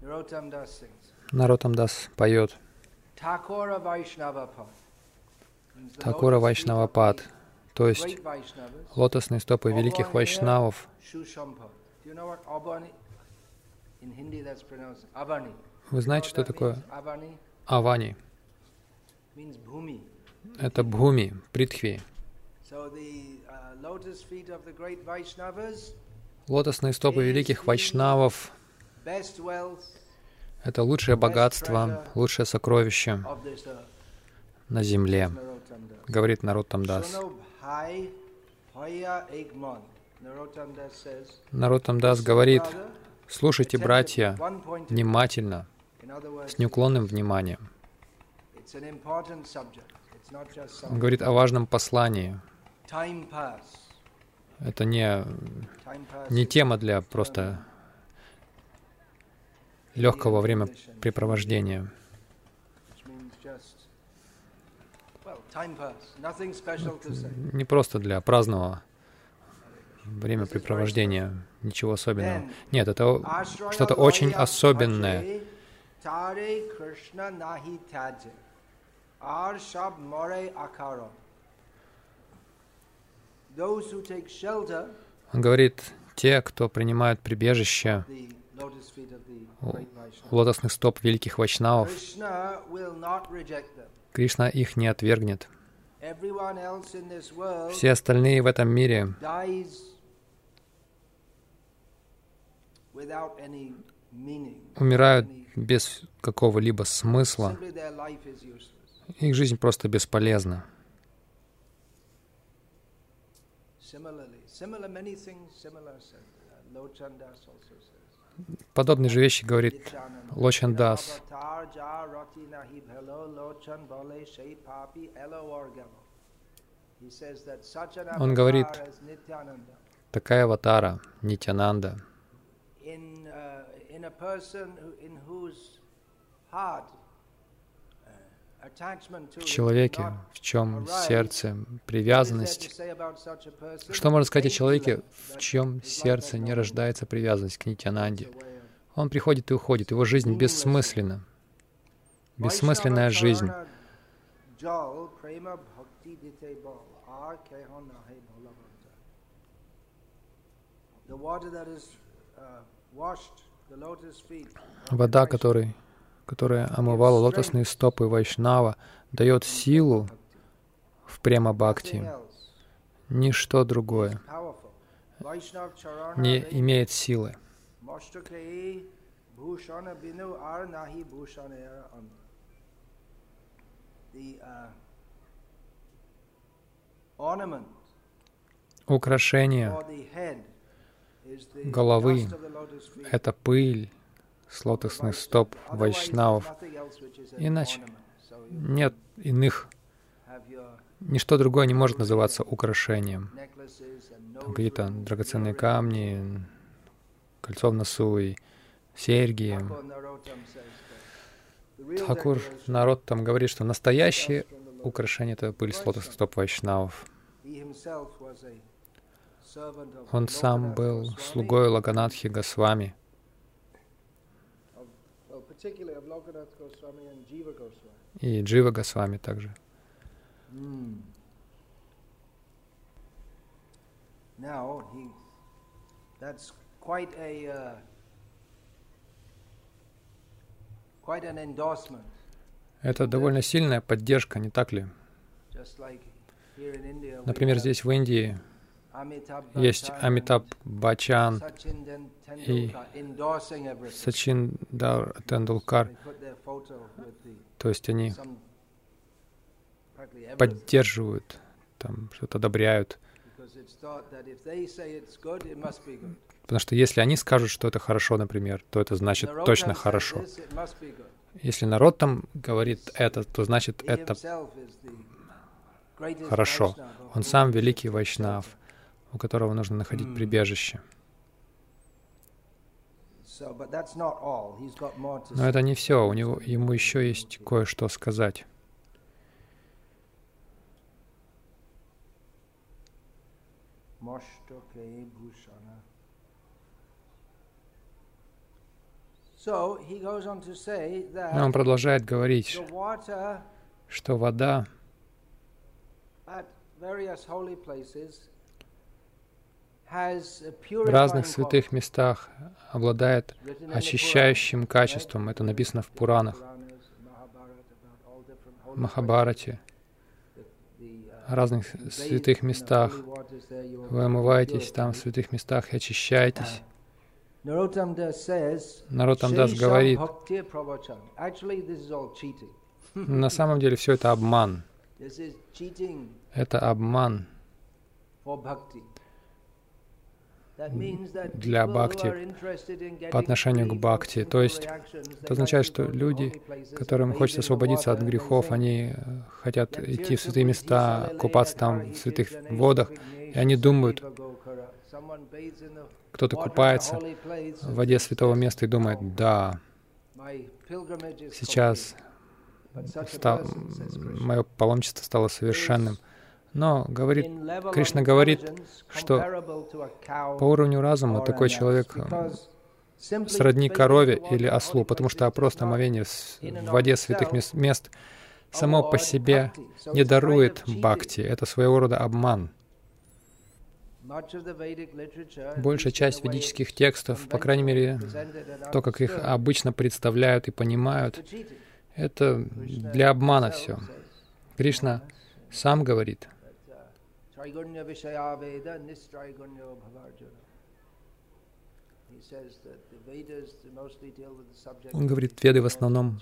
Нароттам Дас поет Thakura Vaishnava Pad. Такура Вайшнавапад, то есть лотосные стопы великих вайшнавов. Вы знаете, что такое Авани? Это Бхуми, Притхви. Лотосные стопы великих вайшнавов — это лучшее богатство, лучшее сокровище на земле, говорит Нароттам Дас. Нароттам Дас говорит: слушайте, братья, внимательно, с неуклонным вниманием. Он говорит о важном послании. Это не тема для просто легкого времяпрепровождения. Не просто для праздного времяпрепровождения, ничего особенного. Нет, это что-то очень особенное. Он говорит, те, кто принимают прибежище у лотосных стоп великих вайшнавов, Кришна их не отвергнет. Все остальные в этом мире умирают без какого-либо смысла. Их жизнь просто бесполезна. Подобные же вещи говорит Лочан Дас. Он говорит, такая аватара, Нитьянанда, в человеке, в чем сердце, привязанность. Что можно сказать о человеке, в чьем сердце не рождается привязанность к Нитьянанде? Он приходит и уходит, его жизнь бессмысленна. Бессмысленная жизнь. Вода, которая омывала лотосные стопы Вайшнава, дает силу в према-бхакти. Ничто другое не имеет силы. Украшение головы — это пыль с лотосных стоп вайшнавов. Иначе нет иных. Ничто другое не может называться украшением. Там какие-то драгоценные камни, кольцо в носу и серьги. Тхакур Нароттам говорит, что настоящее украшение — это пыль с лотосных стоп вайшнавов. Он сам был слугой Локанатхи Госвами. И Джива Госвами также. Это довольно сильная поддержка, не так ли? Например, здесь в Индии есть Амитабх Баччан и Сачиндар Тендулкар. То есть они поддерживают, там что-то одобряют. Потому что если они скажут, что это хорошо, например, то это значит точно хорошо. Если народ там говорит это, то значит это хорошо. Он сам великий вайшнав, у которого нужно находить прибежище. Но это не все, ему еще есть кое-что сказать. он продолжает говорить, что вода в разных святых местах обладает очищающим качеством. Это написано в Пуранах, в Махабхарате, в разных святых местах. Вы омываетесь там в святых местах и очищаетесь. Нароттам Дас говорит, на самом деле все это обман. Это обман для бхакти, по отношению к бхакти. То есть это означает, что люди, которым хочется освободиться от грехов, они хотят идти в святые места, купаться там в святых водах, и они думают, кто-то купается в воде святого места и думает, да, сейчас мое паломничество стало совершенным. Но Кришна говорит, что по уровню разума такой человек сродни корове или ослу, потому что просто омовение в воде святых мест само по себе не дарует бхакти. Это своего рода обман. Большая часть ведических текстов, по крайней мере, то, как их обычно представляют и понимают, это для обмана все. Кришна сам говорит, он говорит, Веды в основном,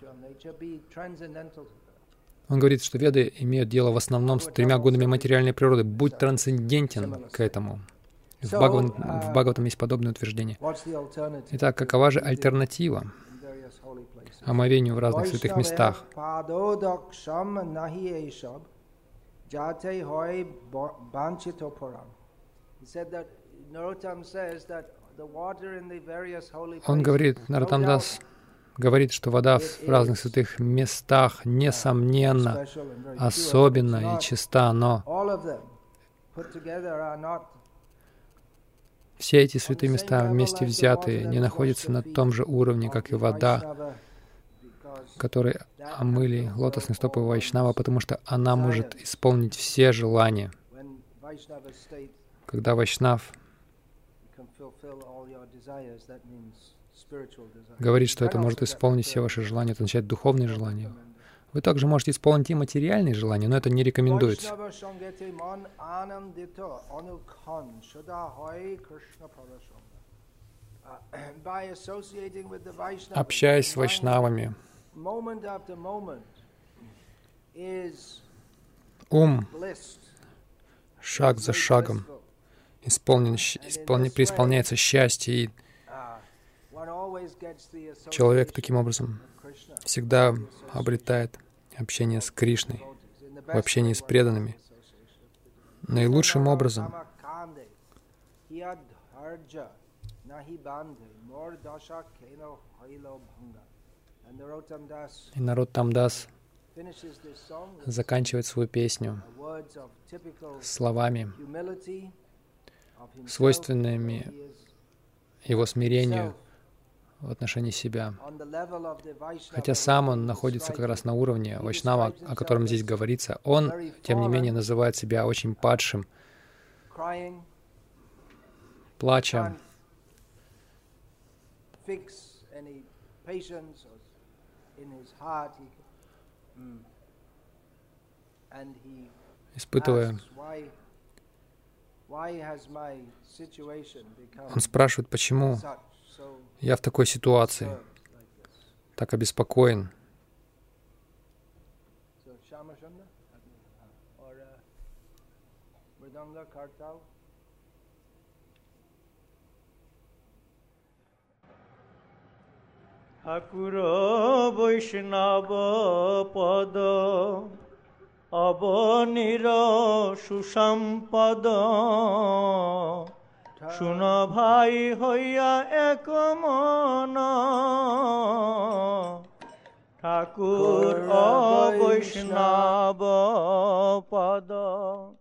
он говорит, что Веды имеют дело в основном с 3 годами материальной природы. Будь трансцендентен к этому. В Бхагаватам есть подобное утверждение. Итак, какова же альтернатива омовению в разных святых местах? Он говорит, Нароттам Дас говорит, что вода в разных святых местах, несомненно, особенна и чиста, но все эти святые места вместе взятые не находятся на том же уровне, как и вода, которой омыли лотосные стопы Вайшнава, потому что она может исполнить все желания. Когда Вайшнав говорит, что это может исполнить все ваши желания, это означает духовные желания. Вы также можете исполнить и материальные желания, но это не рекомендуется. Общаясь с вайшнавами, ум шаг за шагом преисполняется счастье, и человек таким образом всегда обретает общение с Кришной, в общении с преданными. Наилучшим образом и Нароттам Дас заканчивает свою песню словами, свойственными его смирению в отношении себя. Хотя сам он находится как раз на уровне вайшнава, о котором здесь говорится, он, тем не менее, называет себя очень падшим, плача, испытывая. Он спрашивает, почему я в такой ситуации, так обеспокоен. Thakura Vaishnava Pada Abanira Susampada Shuna bhai hoya ekamana Thakur Vaishnava Pada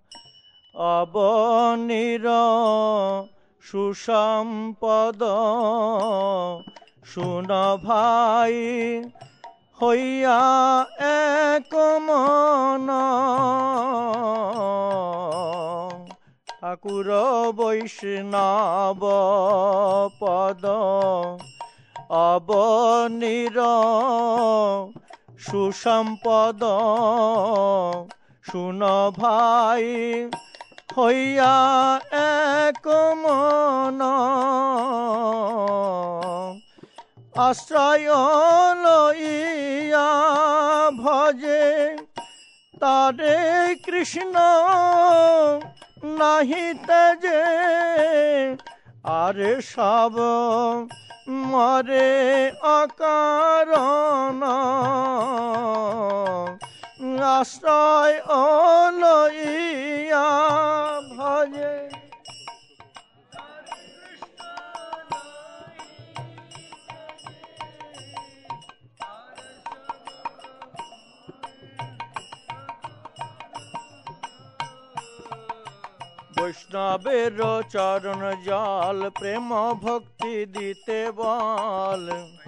Abanira Susampada শুন ভাই হইয়া এক মন, ঠাকুর বৈষ্ণব পদ অবনীর সুসম্পদ। শুন ভাই হইয়া এক মন, আশ্রয় লইয়া ভজে তারে কৃষ্ণ নাহি তেজে। আরে সব মরে অকারণ, আশ্রয় লইয়া ভজে। বৈষ্ণবের চরণ জল প্রেম ভক্তি দিতে বল।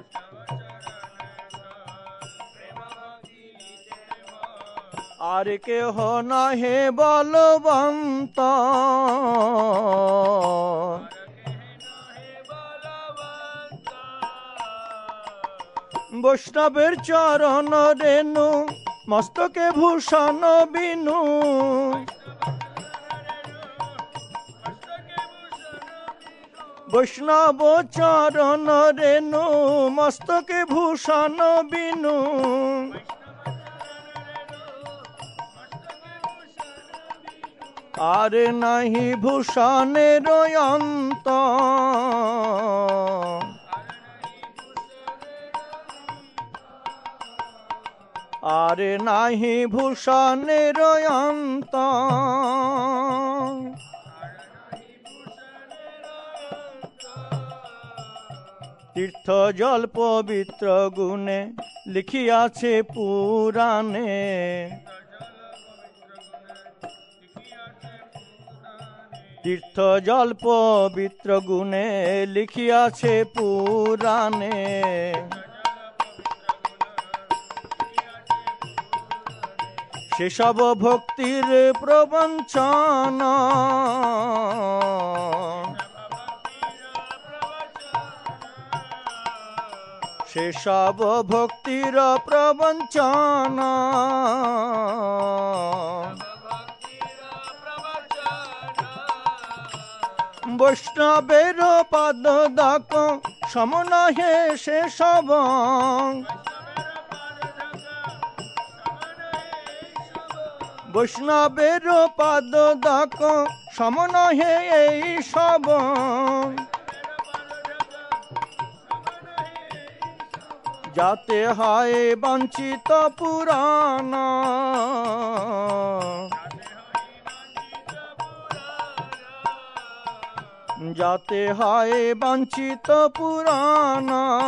আর কেহ নহে বলবন্ত, বৈষ্ণবের চরণ রেণু মস্তকে ভূষণ বিনু। বৈষ্ণব চরণ রেণু মস্তকে ভূষণ বিনু। আর নাহি ভূষণের অন্ত, আর নাহি ভূষণের অন্ত। তীর্থ জল পবিত্র গুণে লিখিয়াছে পুরাণে। তীর্থ জল পবিত্র গুণে লিখিয়াছে পুরাণে। সেসব ভক্তির প্রবঞ্চন, সেসব ভক্তির প্রবঞ্চন। বৈষ্ণবের পাদ দাক সমনহে সেসব, বৈষ্ণবের পাদ দাক সমনহে এই সব। যাতে হয় বঞ্চিত পুরাণ, যাতে হয় বঞ্চিত পুরাণ।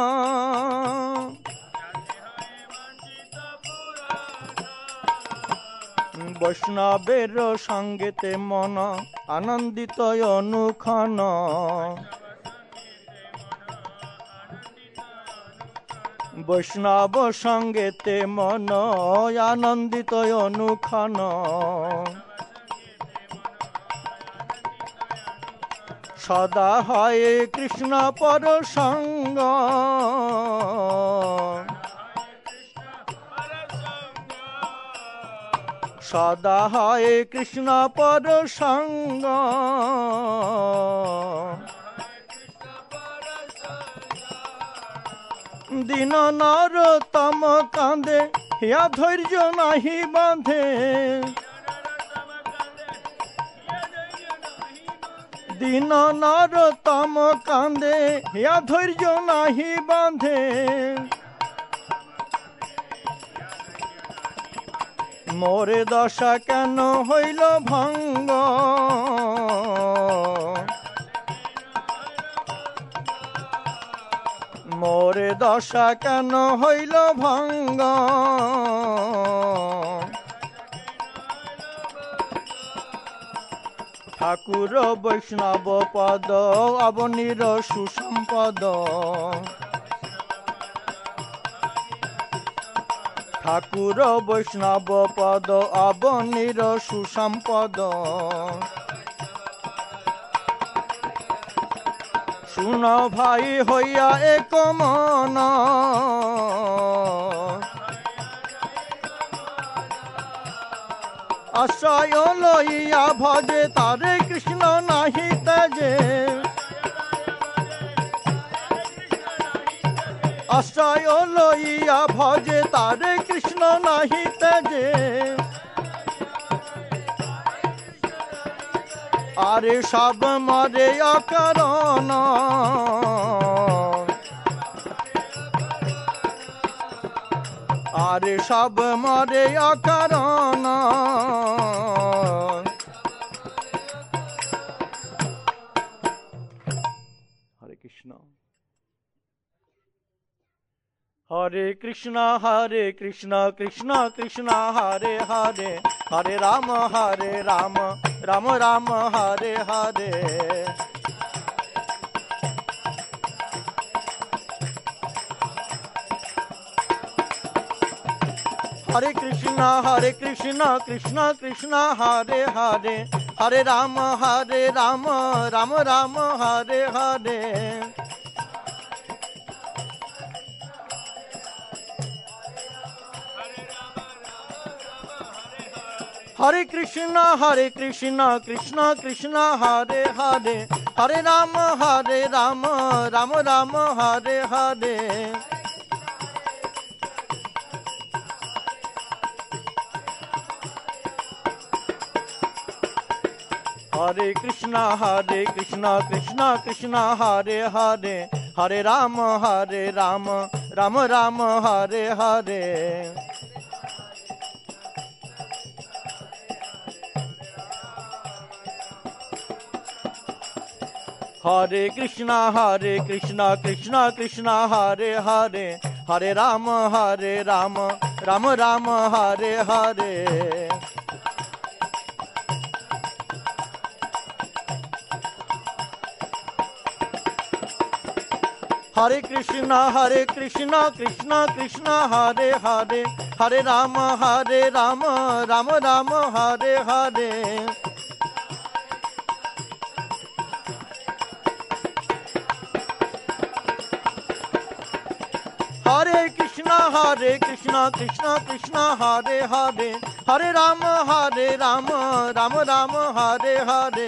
বৈষ্ণবের সঙ্গেতে মন আনন্দিত অনুক্ষণ, বৈষ্ণব সঙ্গেতে মন আনন্দিত অনুক্ষণ। সদা হয় কৃষ্ণ পর সঙ্গ, সদা হয় কৃষ্ণ পর সঙ্গ। দিন নরোত্তম কাঁদে হিয়া ধৈর্য নাহি বাঁধে, দিন নরোত্তম কাঁদে হিয়া ধৈর্য নাহি বাঁধে। মোরে দশা কেন হইল ভঙ্গ, মোরে দশা কেন হইল ভঙ্গ। ঠাকুর বৈষ্ণব পদ অবনীর সুসম্পদ, ঠাকুর বৈষ্ণব পদ অবনীর সুসম্পদ শুন ভাই হইয়া এক মন আশ্রয় লইয়া ভজে তারে কৃষ্ণ নাহি তেজে আশ্রয় লইয়া ভজে তারে কৃষ্ণ নাহি তেজে আরে সব মরে অকারণ আরে সব মরে অকারণ হরে কৃষ্ণ হরে কৃষ্ণ কৃষ্ণ কৃষ্ণ হরে হরে হরে রাম রাম রাম হরে হরে हरे कृष्णा कृष्ण कृष्ण हरे हरे हरे राम राम राम हरे हरे हरे कृष्ण कृष्ण कृष्ण हरे हरे हरे राम राम राम हरे हरे हरे कृष्ण कृष्ण कृष्ण हरे हरे हरे राम राम राम हरे हरे हरे कृष्ण कृष्ण कृष्ण हरे हरे हरे राम राम राम हरे हरे हरे कृष्ण कृष्ण कृष्ण हरे हरे हरे राम राम राम हरे हरे हरे कृष्ण कृष्ण कृष्ण हरे हरे हरे राम राम राम हरे हरे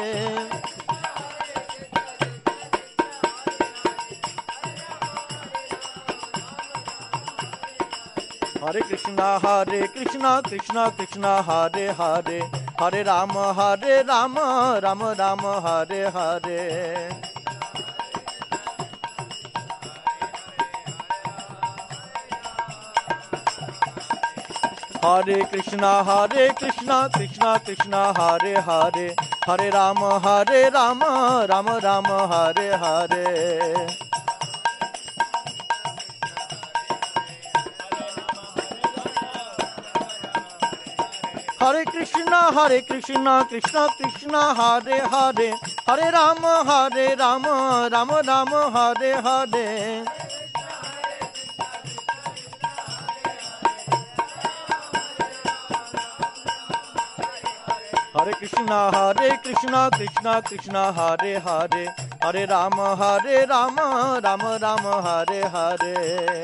हरे कृष्ण कृष्ण कृष्ण हरे हरे हरे राम राम राम हरे हरे हरे कृष्ण कृष्ण कृष्ण हरे हरे हरे राम राम राम हरे हरे हरे कृष्ण कृष्ण कृष्ण हरे हरे हरे राम राम राम हरे हरे हरे कृष्ण कृष्ण कृष्ण हरे हरे हरे राम राम राम हरे हरे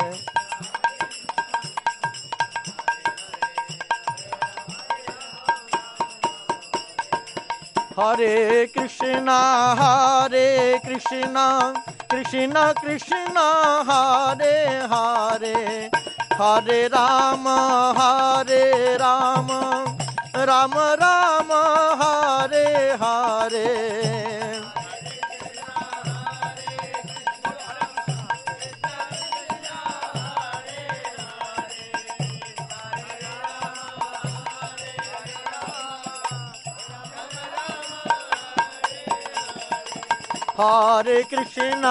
हरे कृष्ण कृष्ण कृष्ण हरे हरे हरे राम राम राम राम हरे हरे हरे कृष्ण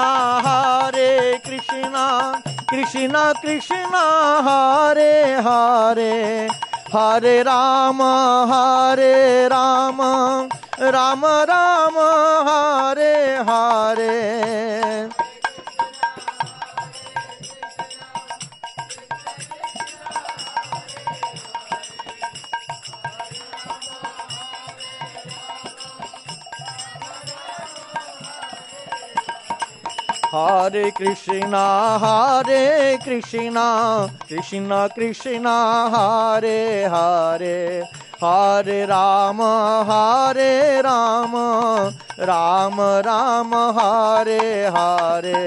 कृष्ण कृष्ण हरे हरे हरे राम राम राम राम हरे Hare Hare Krishna, Krishna Krishna, Hare Hare, Hare Rama, Rama Rama, Hare Hare.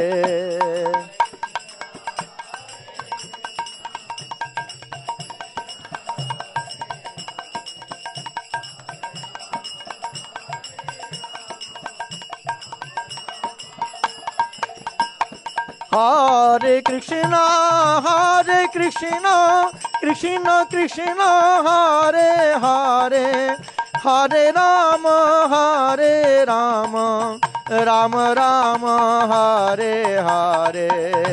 Hare Krishna, Krishna Krishna, Hare Hare, Hare Rama, Rama Rama, Hare Hare.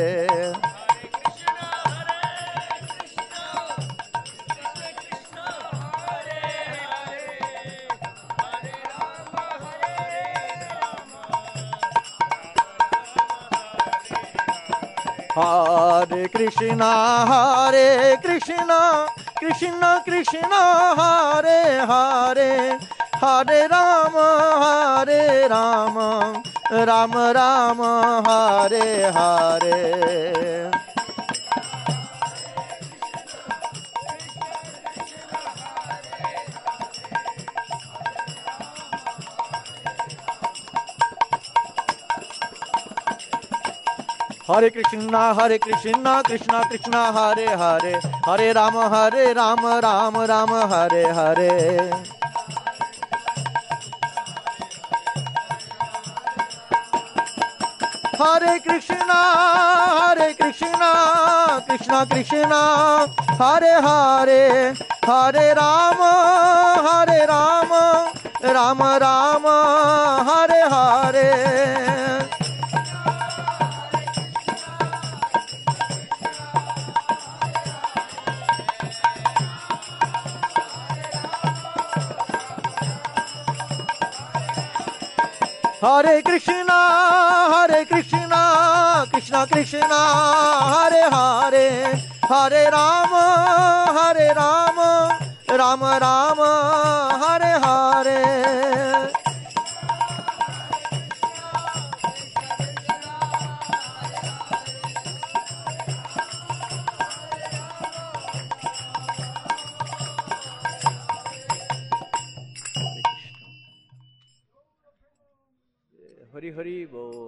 Hare Krishna, Krishna Krishna, Hare Hare, Hare Rama, Rama Rama, Hare Hare. Hare Krishna, Krishna Krishna, Hare Hare, Hare Rama, Rama Rama, Hare Hare. Hare Krishna, Krishna Krishna, Hare Hare, Hare Rama, Rama Rama, Hare Hare. Hare Krishna, Krishna Krishna, Hare Hare, Hare Rama, Rama Rama, Hare Hare. Hari Hari Bol.